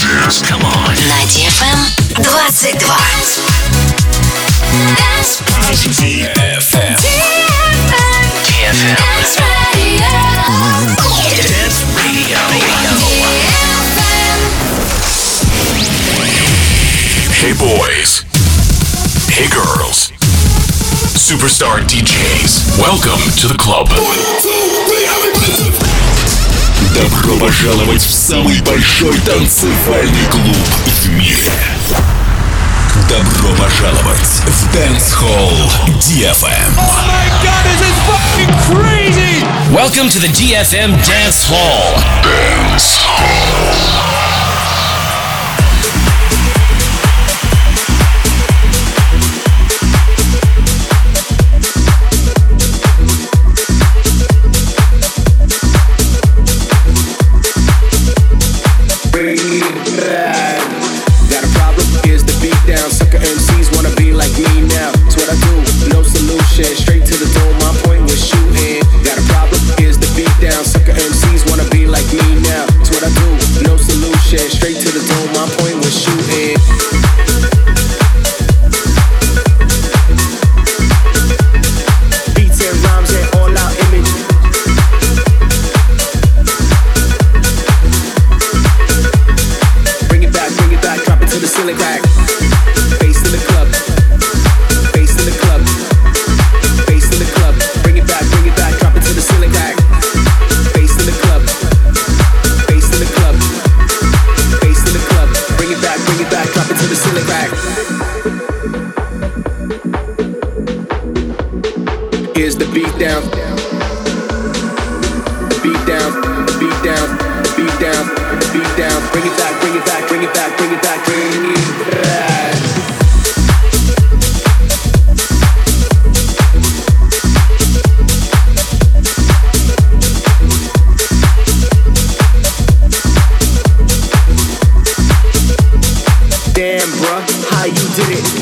Come on. На DFM 22. DFM. Dance Radio. Hey boys. Hey girls. Superstar DJs. Welcome to the club. Добро пожаловать в самый большой танцевальный клуб в мире. Добро пожаловать в Dance Hall DFM. Oh my god, this is fucking crazy! Welcome to the DFM Dance Hall. Dance Hall. Straight to the dome, my point was shooting. Got a problem, here's the beat down. Sucker MCs wanna be like me now. It's what I do, no solution. Straight to the dome, my point was shooting. Beats and rhymes and all out image. Bring it back, drop it to the ceiling back. Bass in the club. Here's the beat down. The beat down, the beat down, the beat down, the beat down. Bring it back, bring it back, bring it back, bring it back, bring it back. Damn, bruh, how you did it?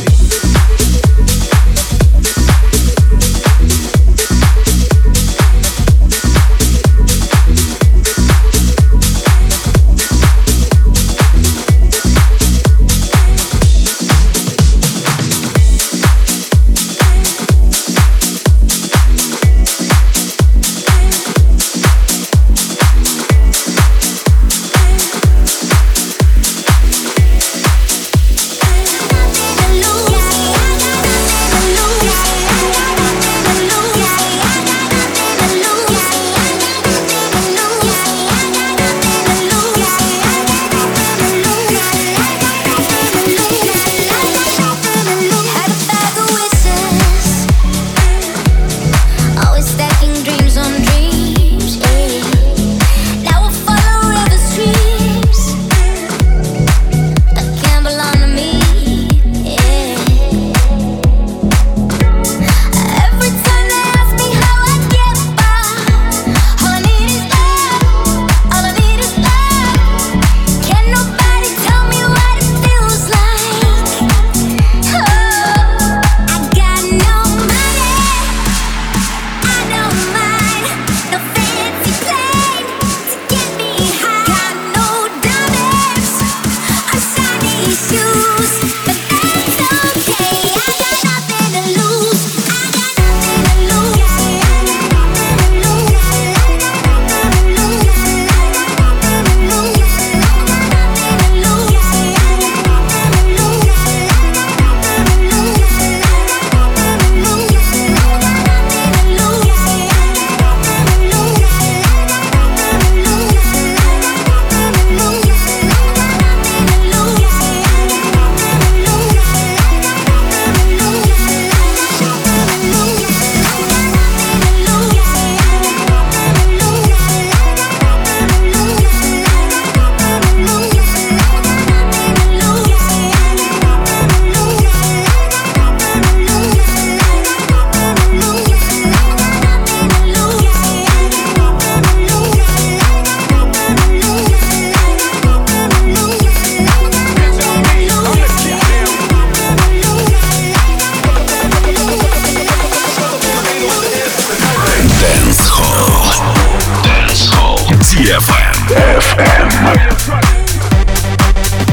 DFM.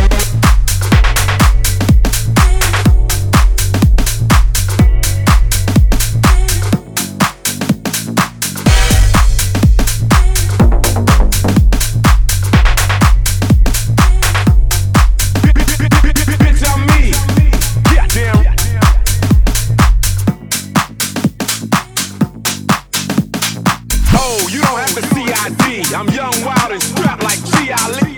I'm young, wild, and strapped like G. Ali.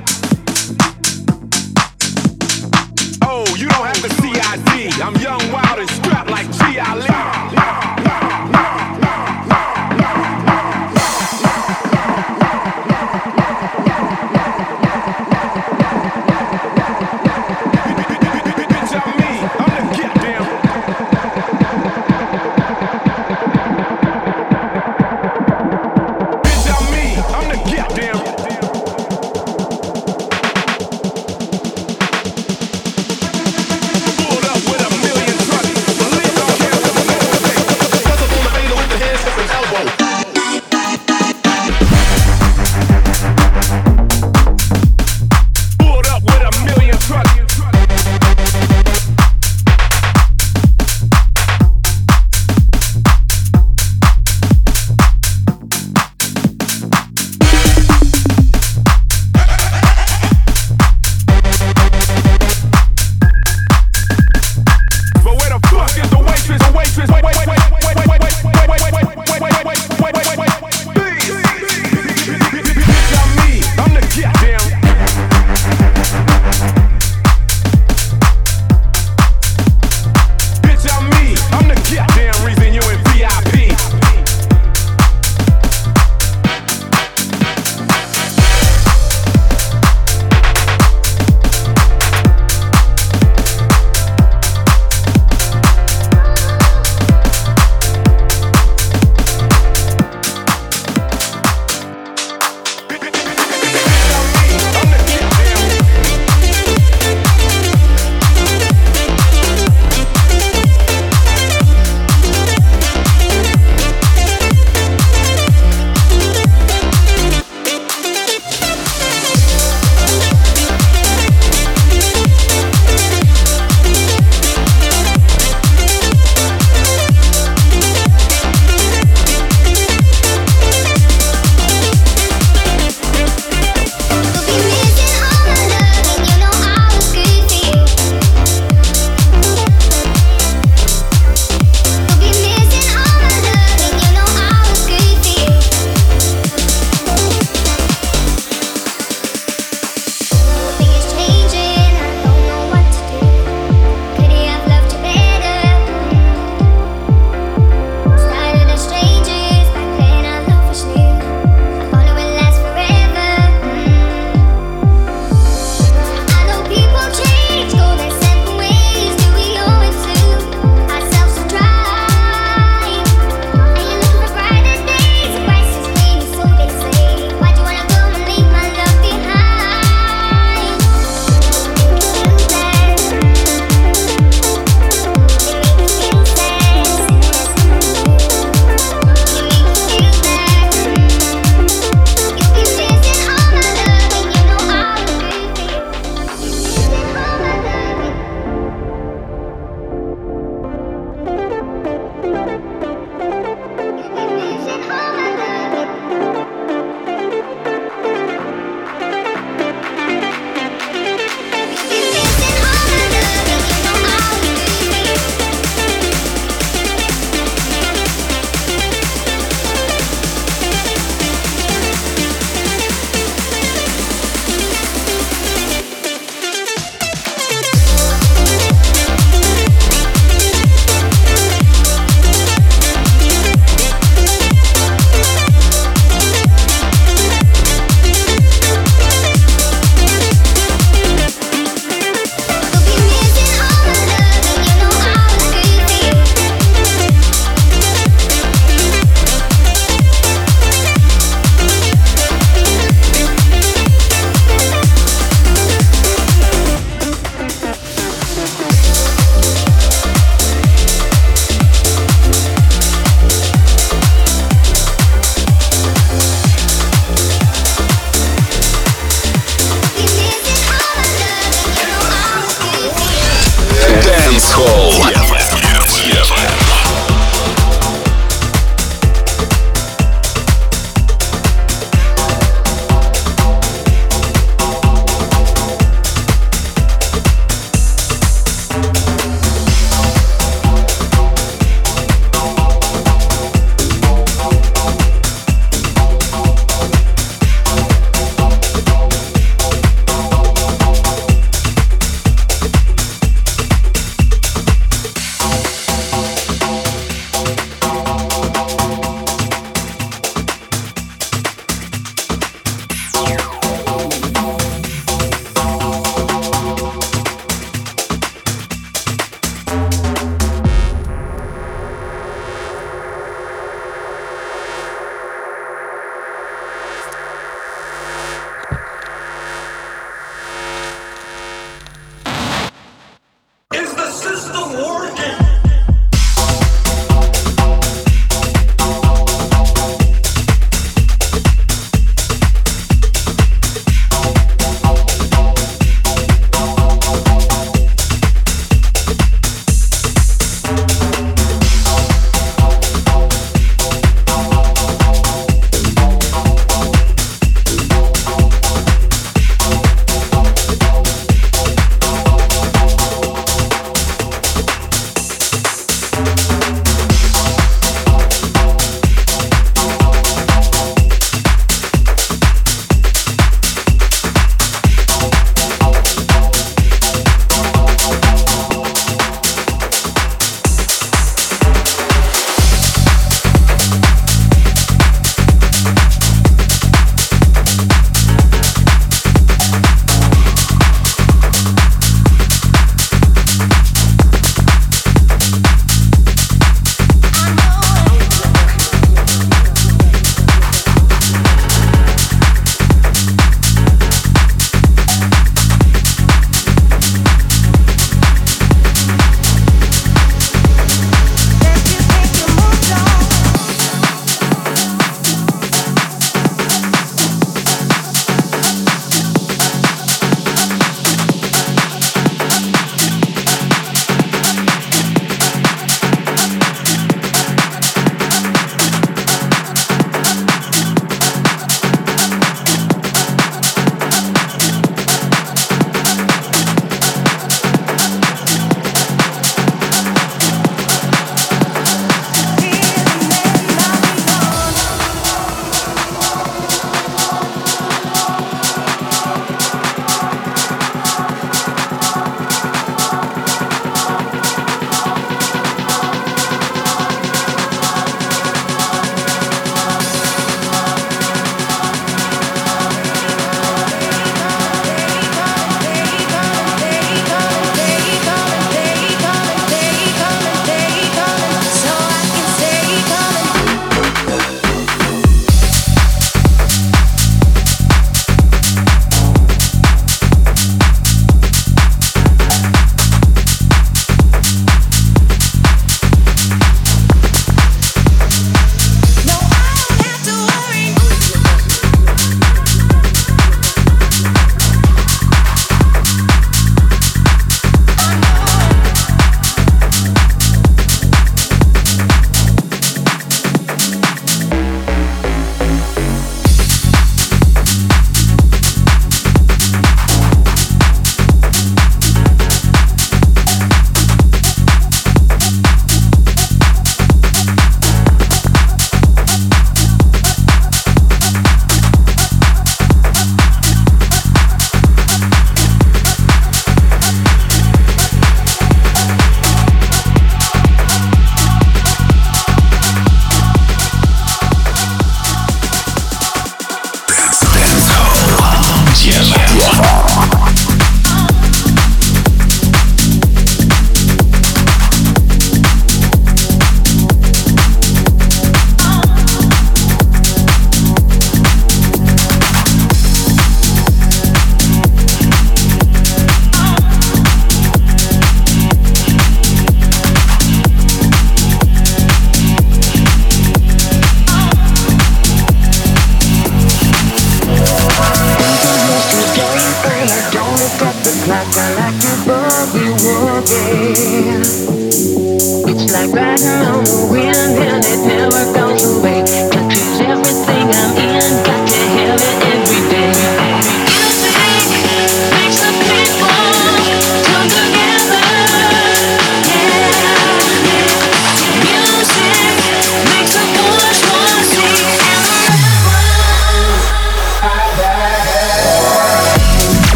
Oh, you don't have to see ID. I'm young, wild, and strapped like G. Ali. I'm the get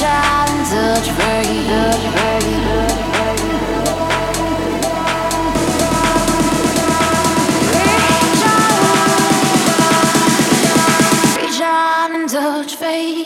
out and touch free. Reach out and touch fate.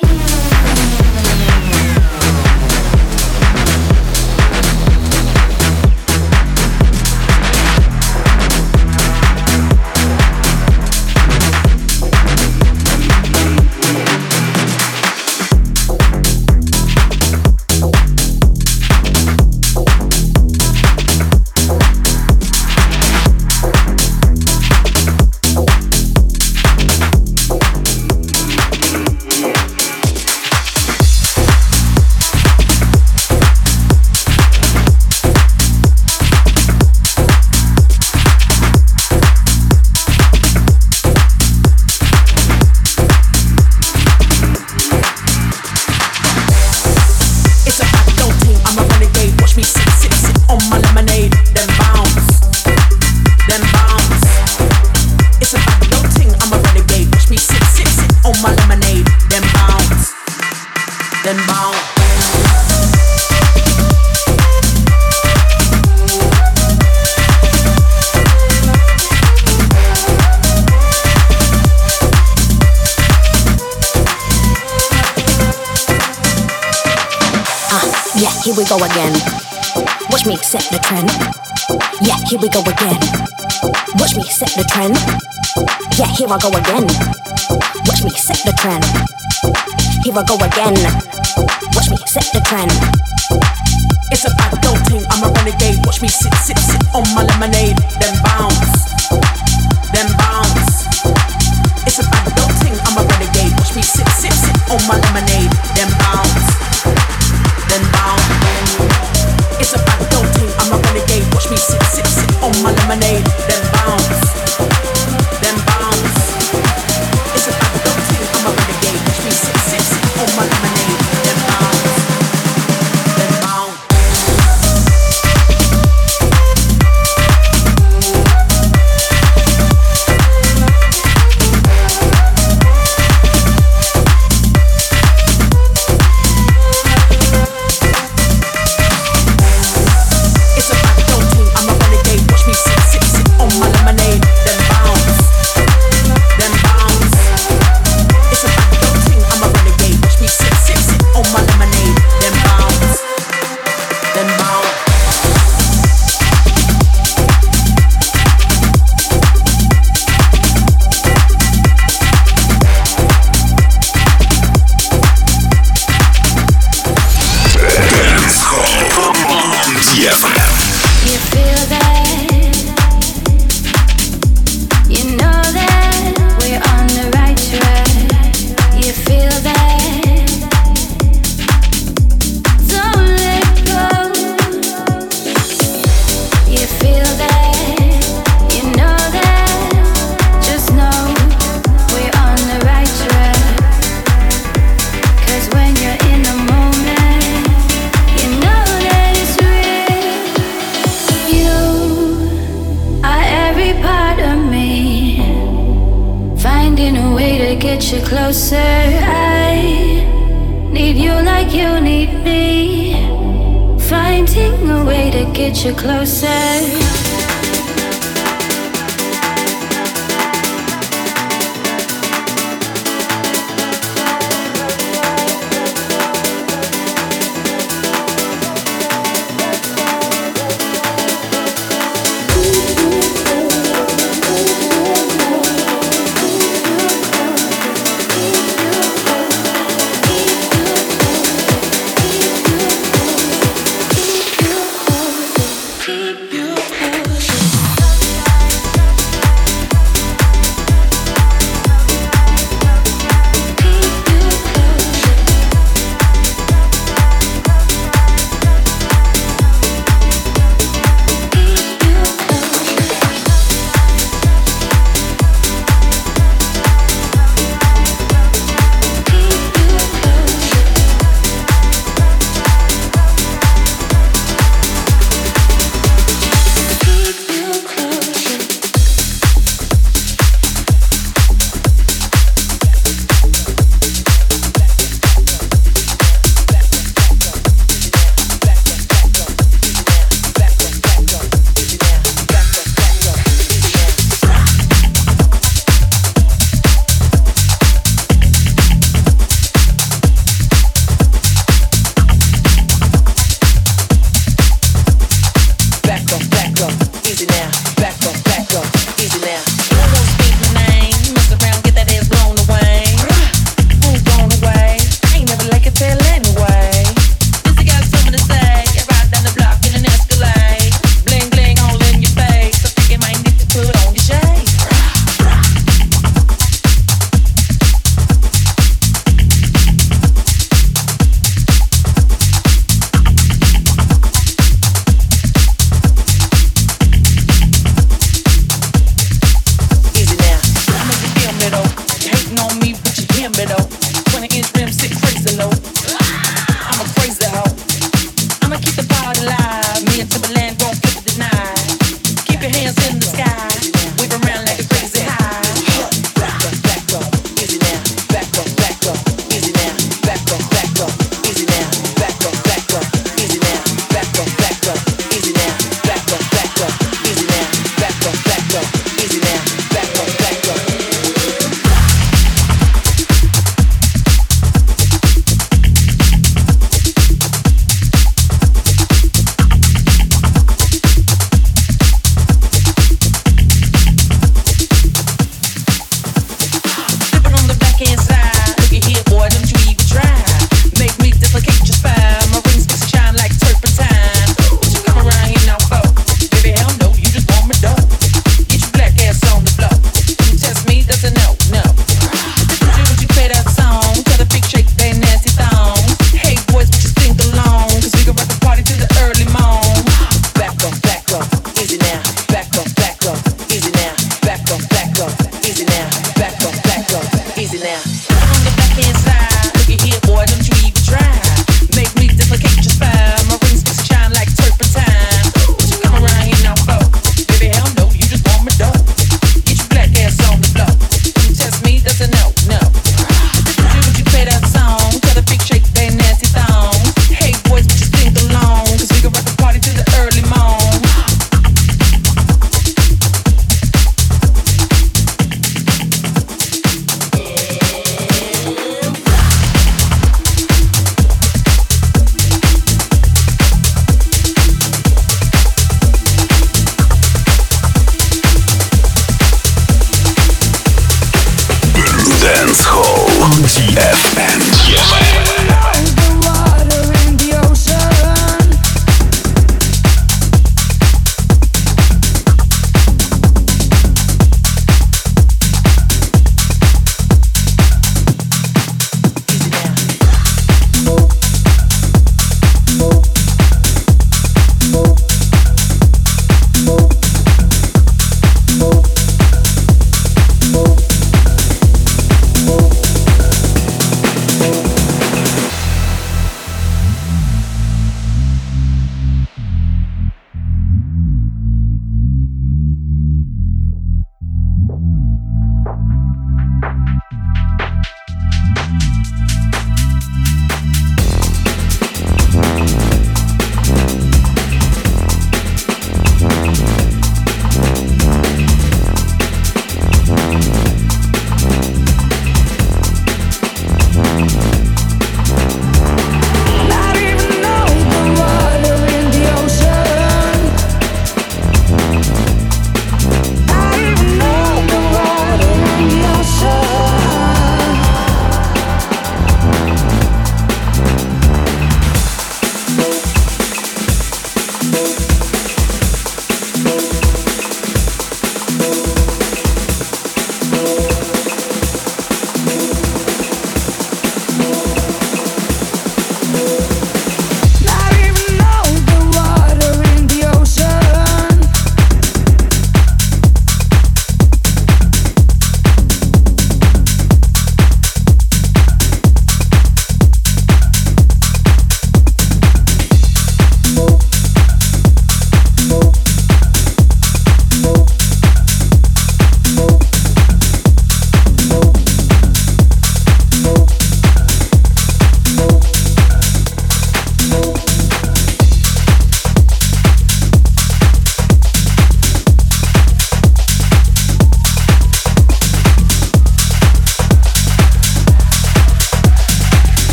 Here we go again. Watch me set the trend. Yeah, here we go again. Watch me set the trend. Yeah, here I go again. Watch me set the trend. Here I go again. Watch me set the trend. It's a bad girl thing, I'm a renegade. Watch me sit on my lemonade. Then bounce. It's a bad girl thing, I'm a renegade. Watch me sit on my lemonade. Then bounce. It's a bad girl thing, I'm a renegade. Watch me sit on my lemonade. Then bounce. It's a bad girl thing, I'm a renegade. Watch me sit on my lemonade. Then bounce. You closer, I need you like you need me. Finding a way to get you closer. Keep you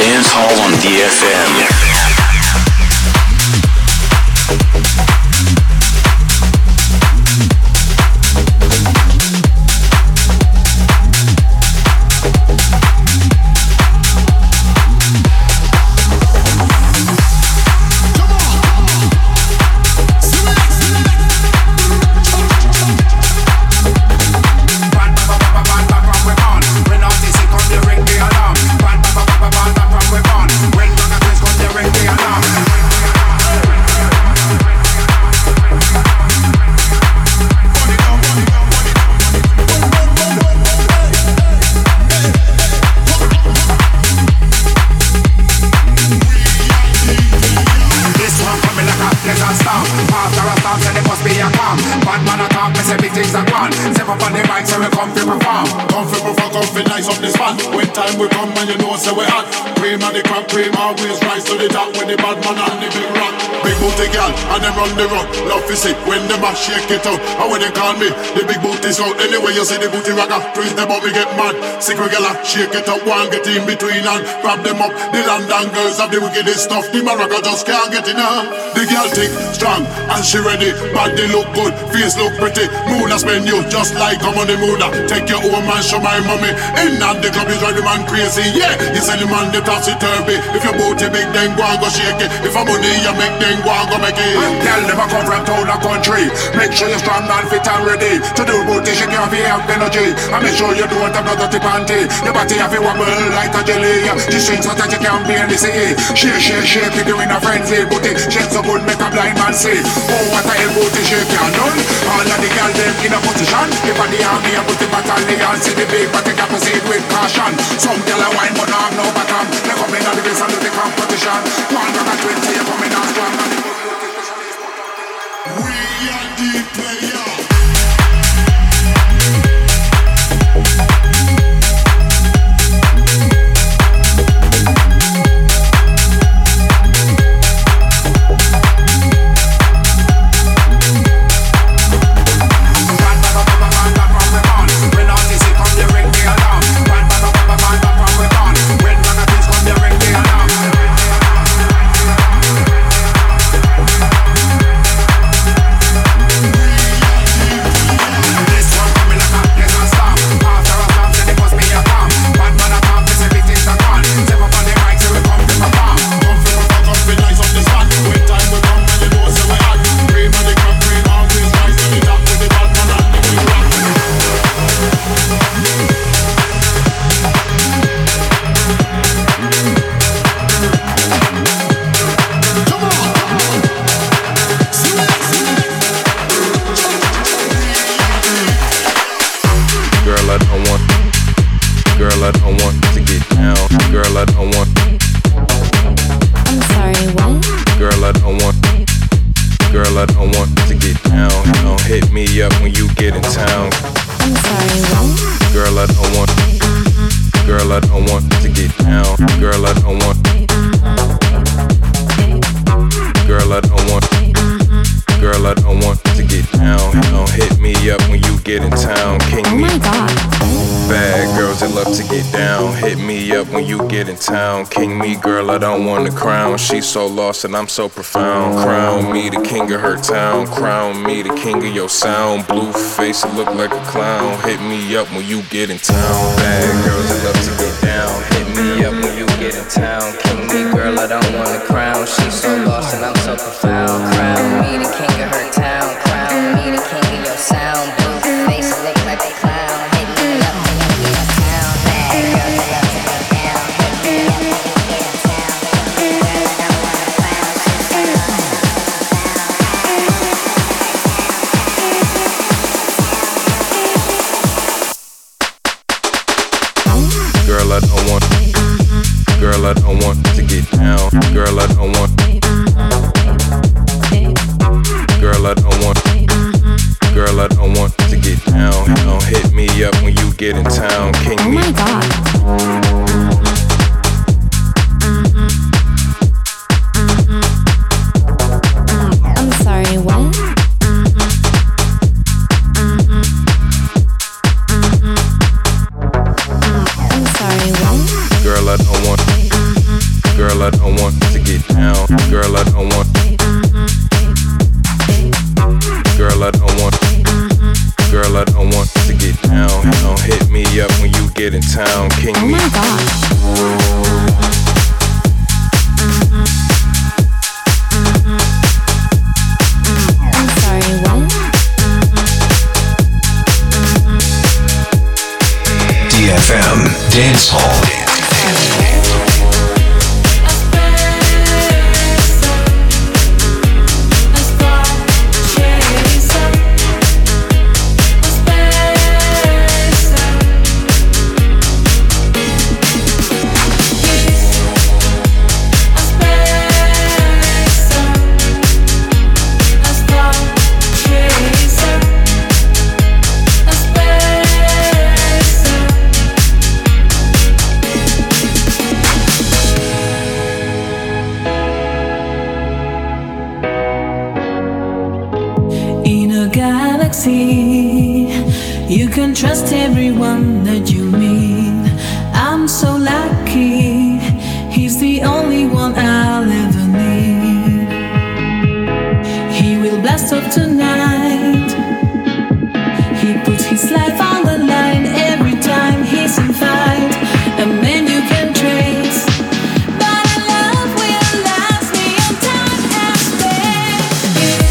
Dance Hall on DFM. When the mash shake it out, how when they call me the big booty's out. Anyway you see the booty ragga, twist them up, me get mad. Sick regular, shake it up, one get in between and grab them up. The London girls have the wickedest stuff. The maraca just can't get enough. The girl thick, strong, and she ready. Body look good, face look pretty. Moon a spend you just like I'm on the moon. Take your own man, show my mommy. In and the club is right, the man crazy. Yeah, you sell the man the topsy-turvy. If your booty big, then go and go shake it. If I'm money, you make then go and go make it. Girl never come from town or country. Make sure you're strong and fit and ready to do booty, shake your have energy. And make sure you don't have no dirty panty. Your body have a wobble like a jelly. The strings so that you can't barely see. Shake it, you in a frenzy. Booty shake so good, make a blind man see. Oh, what a hell booty shake you done. All of the girls them in a position. If I the army and put the battalion, see the big body can proceed with caution. Some girl a wine but not have no bottom. They come in on the base and do the competition. 120, you coming on strong. We are the player. Town. King me, girl, I don't want the crown. She's so lost and I'm so profound. Crown me the king of her town. Crown me the king of your sound. Blue face, it look like a clown. Hit me up when you get in town. Bad girls that love to get down. Hit me up when you get in town. King me, girl, I don't want the crown. She's so lost and I'm so profound. Crown me the king of her town. Crown me the king of your sound. Blue face, it look like a clown. Hit me up when you get in town. Bad girls that love to get down. Girl, I don't want to get down. Girl, I don't want. Girl, I don't want. Girl, I don't want to get down. Don't hit me up when you get in town. King me. Oh my God. I'm sorry, what? I'm sorry, what? Girl, I don't want. get down. Hit me up when you get in town. King oh me. my God. I'm sorry, what? DFM Dance Hall. You can trust everyone that you meet. I'm so lucky. He's the only one I'll ever need. He will blast off tonight. He puts his life on the line every time he's in fight. A man you can trace. But a love will last beyond time and space.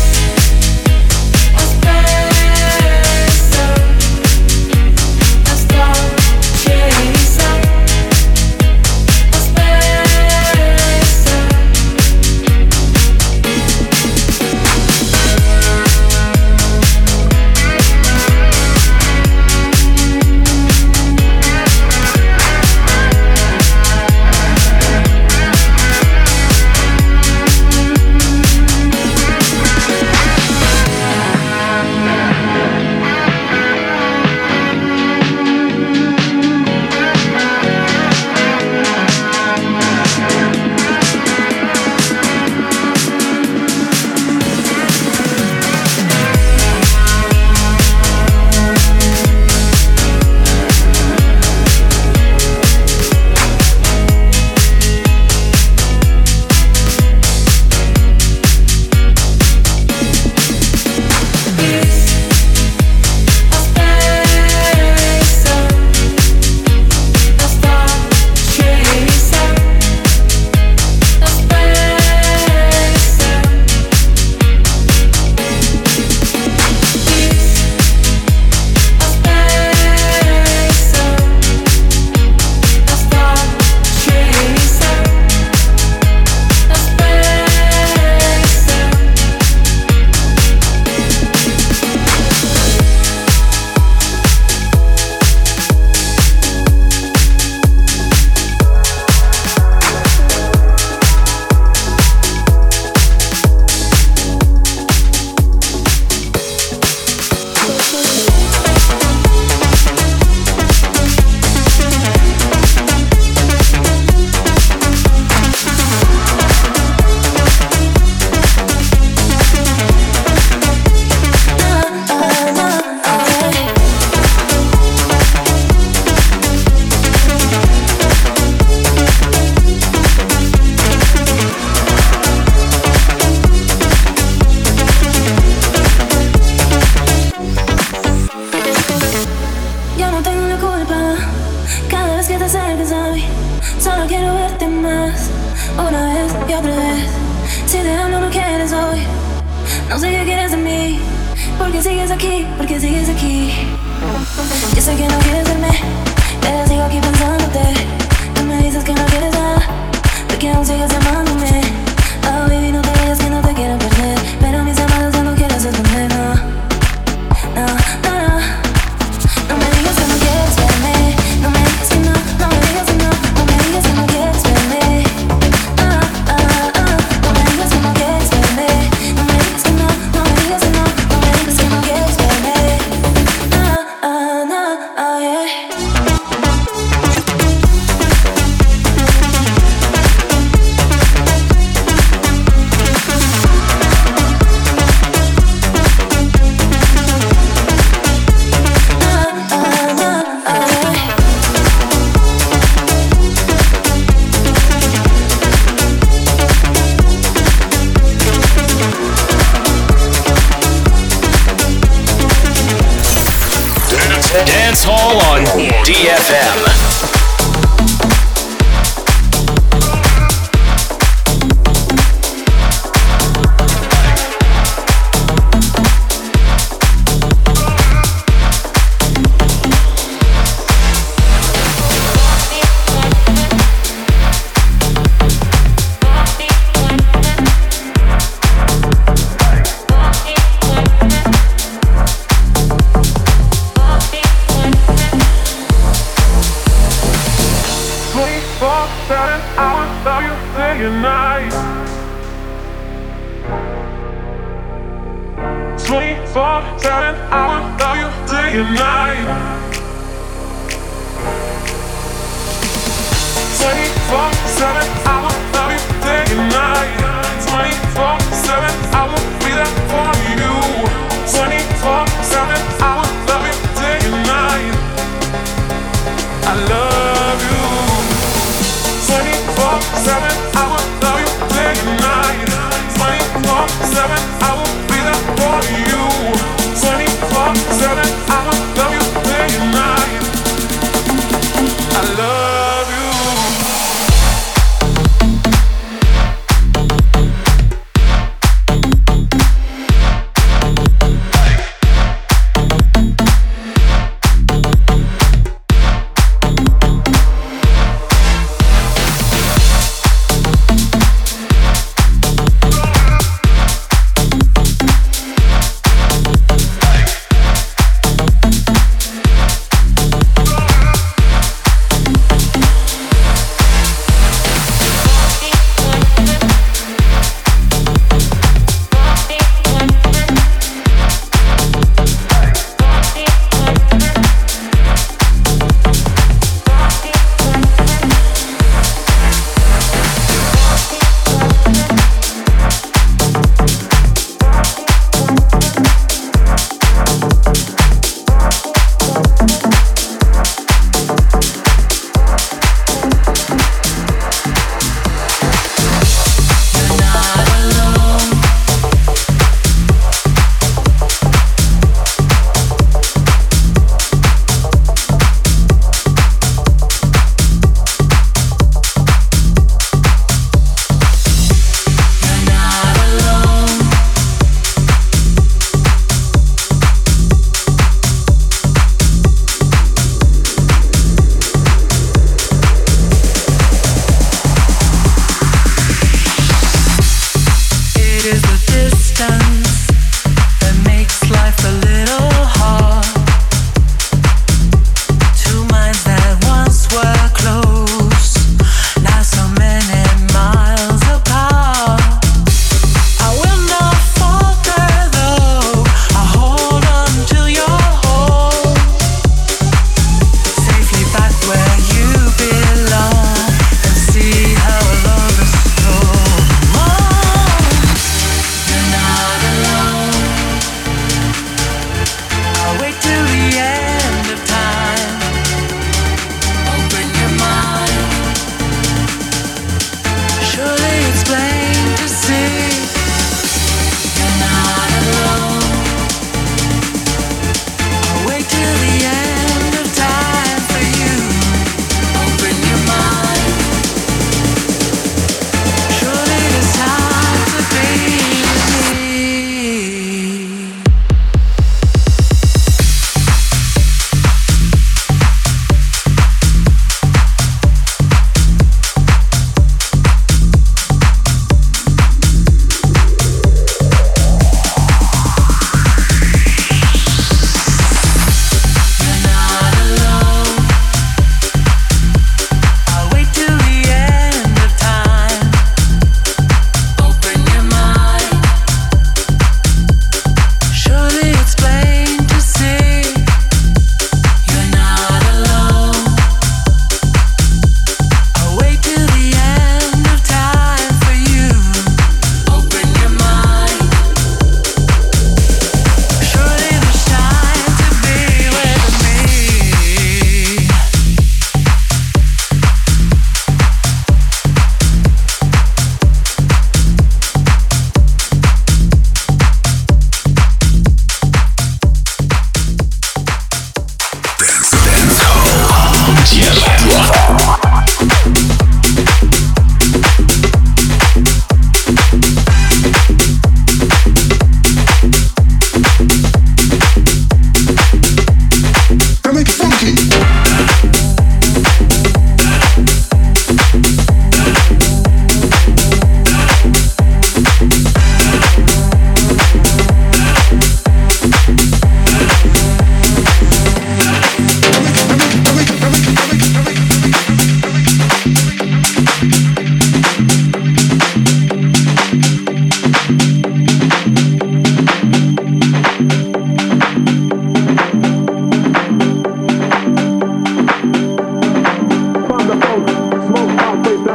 Dance Hall on DFM.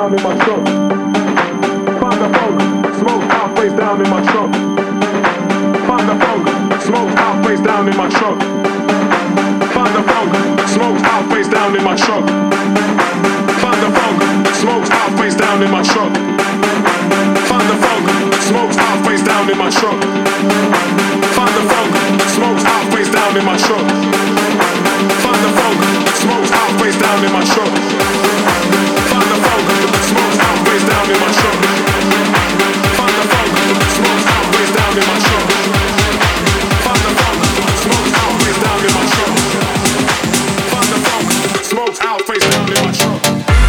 down in my trunk. Find the funk, smoke out face down in my trunk. Find the funk, smoke out face down in my trunk. Find the funk, smoke out face down in my trunk. Find the funk, smoke out face down in my trunk. Find the funk, smoke out face down in my trunk. Find the funk, smoke out face down in my trunk. Find the funk, smoke out face down in my trunk. Find the funk, smoke out face down in my trunk. Find the funk, smoke out face down in my trunk. Find the funk, smoke out face down in my trunk. Find the funk, smoke out face down in my trunk.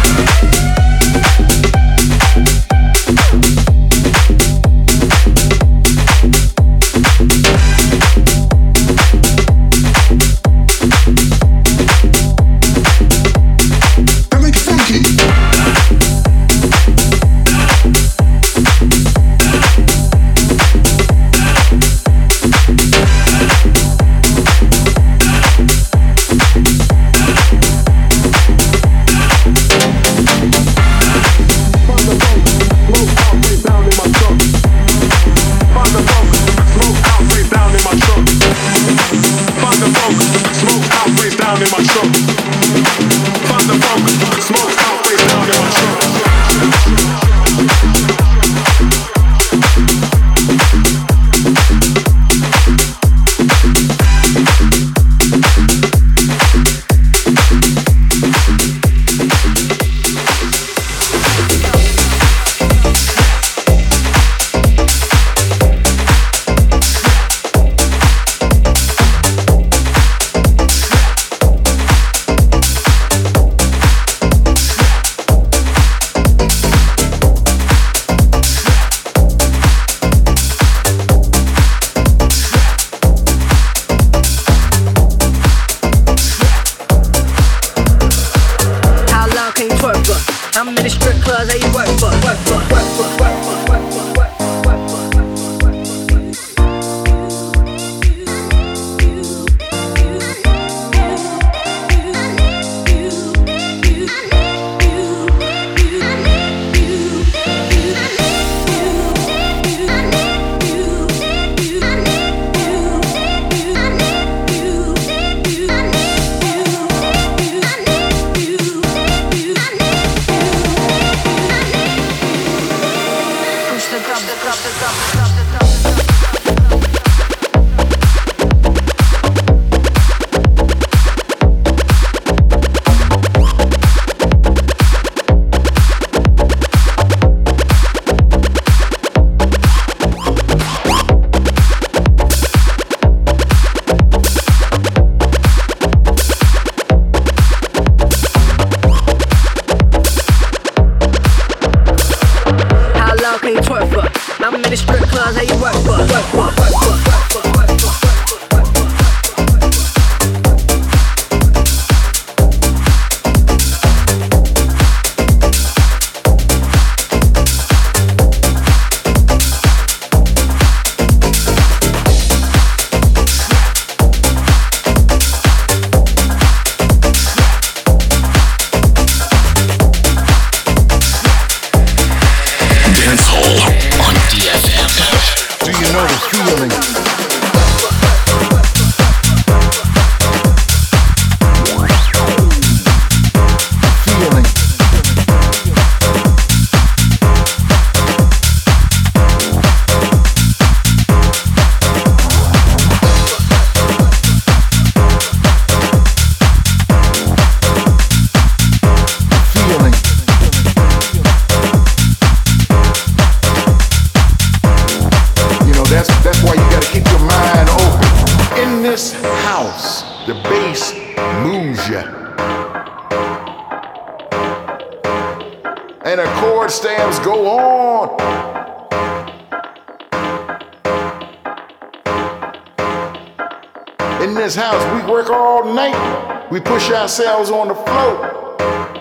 In this house, we work all night. We push ourselves on the floor.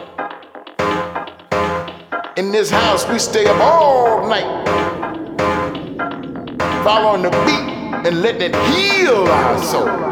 In this house, we stay up all night, following the beat and letting it heal our soul.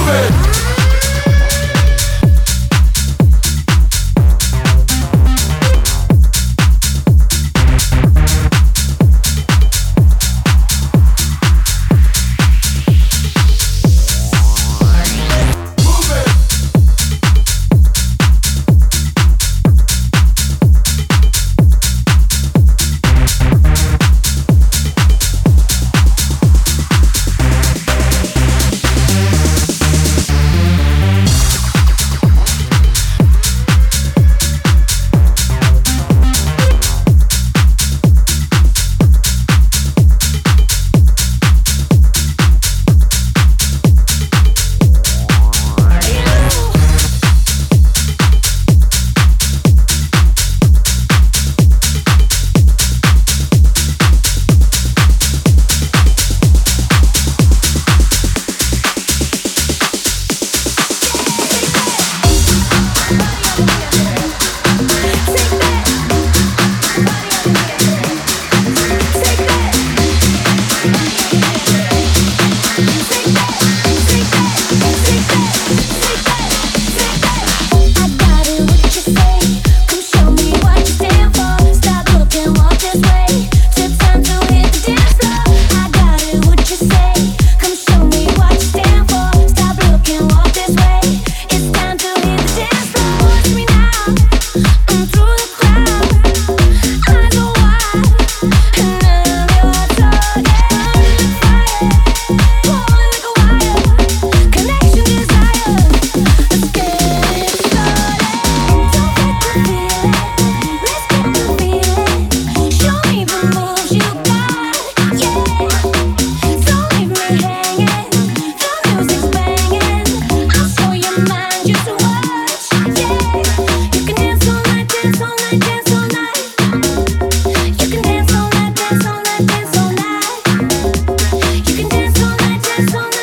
it.